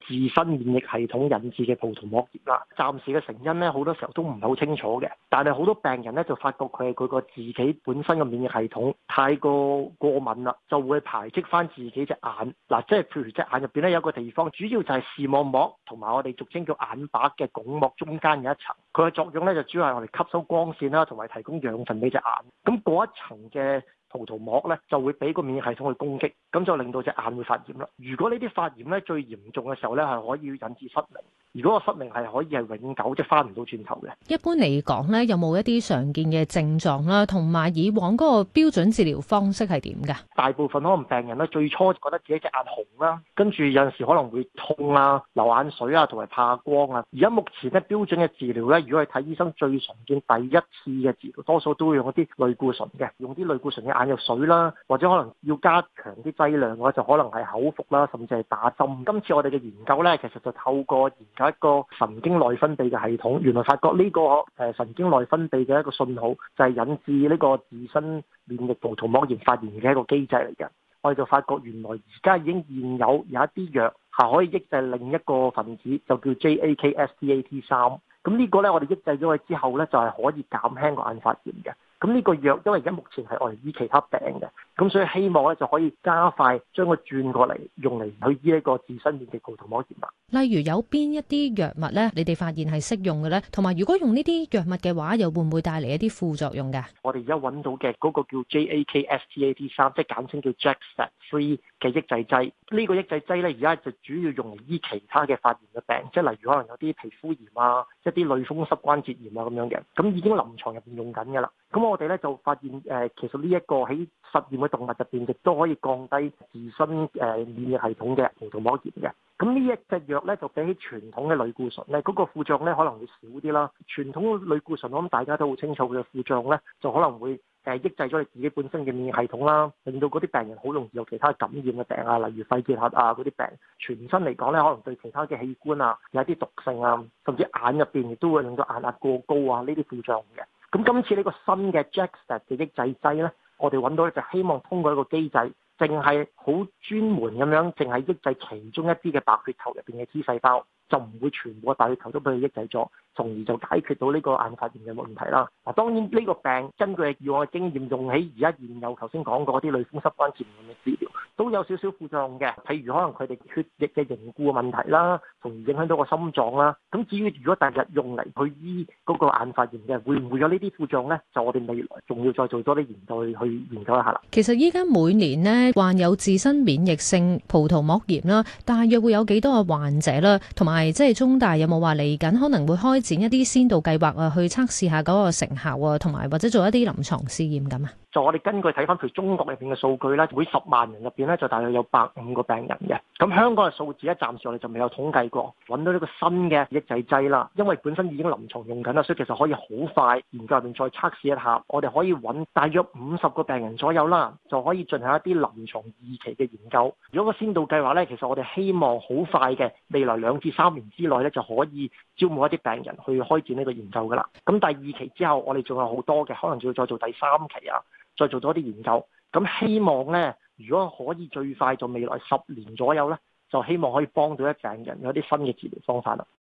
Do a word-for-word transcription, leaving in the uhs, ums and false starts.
自身免疫系統引致嘅葡萄膜炎啦。暫時嘅成因咧，好多時候都唔係好清楚嘅，但係好多病人咧就發覺佢係佢個自己本身嘅免疫系統太過過敏啦，就會排斥翻自己隻眼嗱，即係譬如隻眼入邊咧有個地方，主要就係視網膜同埋我哋俗稱叫眼白嘅鞏膜中間有一層，佢嘅作用咧就主要係我哋吸收光線啦，同埋提供養分俾隻眼。咁嗰一層嘅葡萄膜咧就會俾個免疫系統去攻擊，咁就令到隻眼會發炎啦。如果呢啲發炎咧最嚴重嘅時候咧，係可以引致失明。如果個失明係可以係永久，即係翻唔到轉頭嘅。 一般嚟講咧，有冇一啲常見嘅症狀啦？同埋以往嗰個標準治療方式係點㗎？ 大部分可能病人咧最初覺得自己隻眼紅啦，跟住有陣時可能會痛啊、流眼水啊，同埋怕光啊。而家目前咧標準嘅治療咧，如果係睇醫生最常見第一次嘅治療，多數都會用一啲類固醇嘅，用啲類固醇嘅眼藥水啦，或者可能要加強啲劑量嘅話，就可能係口服啦，甚至係打針。今次我哋嘅研究咧，其實就透過研究一個神經內分泌嘅系統，原來發覺呢個誒神經內分泌嘅一個信號，就係引致呢個自身免疫葡萄膜炎發炎嘅一個機制嚟嘅。我哋就發覺原來而家已經現有有一啲藥係可以抑制另一個分子，就叫 J A K S D A T 三。咁呢個咧，我哋抑制咗佢之後咧，就係可以減輕個眼發炎嘅。咁呢個藥因為而家目前係我哋醫其他病嘅，咁所以希望咧就可以加快將佢轉過嚟，用嚟去醫呢個自身免疫葡萄膜炎啦。 例如有邊一啲藥物咧，你哋發現係適用嘅咧？同埋如果用呢啲藥物嘅話，又會唔會帶嚟一啲副作用㗎？ 我哋而家揾到嘅嗰個叫 J A K S T A T 三，即係簡稱叫 J A K S T three 嘅抑制劑。呢個抑制劑咧，而家就主要用嚟醫其他嘅發炎嘅病，即係例如可能有啲皮膚炎啊，一啲類風濕關節炎啊咁樣嘅，咁已經臨床入邊用緊㗎啦。咁我哋咧就發現誒、呃，其實呢一個喺實驗嘅動物入邊，亦都可以降低自身誒、呃、免疫系統嘅葡萄膜炎嘅。咁呢一隻藥咧，就比起傳統嘅類固醇咧，嗰、那個副作用咧可能會少啲啦。傳統嘅類固醇，我諗大家都好清楚佢嘅副作用咧，就可能會誒、呃、抑制咗你自己本身嘅免疫系統啦，令到嗰啲病人好容易有其他感染嘅病啊，例如肺結核啊嗰啲病。全身嚟講咧，可能對其他嘅器官啊有一啲毒性啊，甚至眼入邊亦都會令到眼壓過高啊，呢啲副作用嘅。咁今次呢個新嘅 J A K S T 嘅抑制劑咧，我哋揾到咧就希望通過一個機制，淨係好專門咁樣，淨係抑制其中一啲嘅白血球入邊嘅 T 細胞，就唔會全部嘅白血球都俾佢抑制咗，從而就解決到呢個眼發炎嘅問題啦。嗱，當然呢個病根據以往嘅經驗，用喺而家現有頭先講過啲類風濕關節炎嘅治療，都有少少副作用嘅，譬如可能佢哋血液嘅凝固嘅問題啦，從而影響到個心臟啦。咁至於如果第日用嚟去醫嗰個眼發炎嘅，會唔會有呢啲副作用呢？就我哋未來仲要再做多啲研究去去研究一下啦。 其實依家每年呢，患有自身免疫性葡萄膜炎啦，大約會有幾多個患者啦？同埋即係中大有冇話嚟緊可能會開展一啲先導計劃啊，去測試下嗰個成效啊，同埋或者做一啲臨床試驗咁啊？ 就我哋根據睇翻譬如中國入邊嘅數據咧，每十萬人入邊咧就大約有百五個病人嘅。咁香港嘅數字咧，暫時我哋就未有統計過。揾到呢個新嘅抑制劑啦，因為本身已經臨床用緊啦，所以其實可以好快研究入邊再測試一下。我哋可以揾大約五十個病人左右啦，就可以進行一啲臨床二期嘅研究。如果個先導計劃咧，其實我哋希望好快嘅未來兩至三年之內咧，就可以招募一啲病人去開展呢個研究噶啦。咁第二期之後，我哋仲有好多嘅，可能仲要再做第三期啊。再做多啲研究，咁希望呢，如果可以最快就未來十年左右呢，就希望可以幫到一病人有啲新嘅治療方法啦。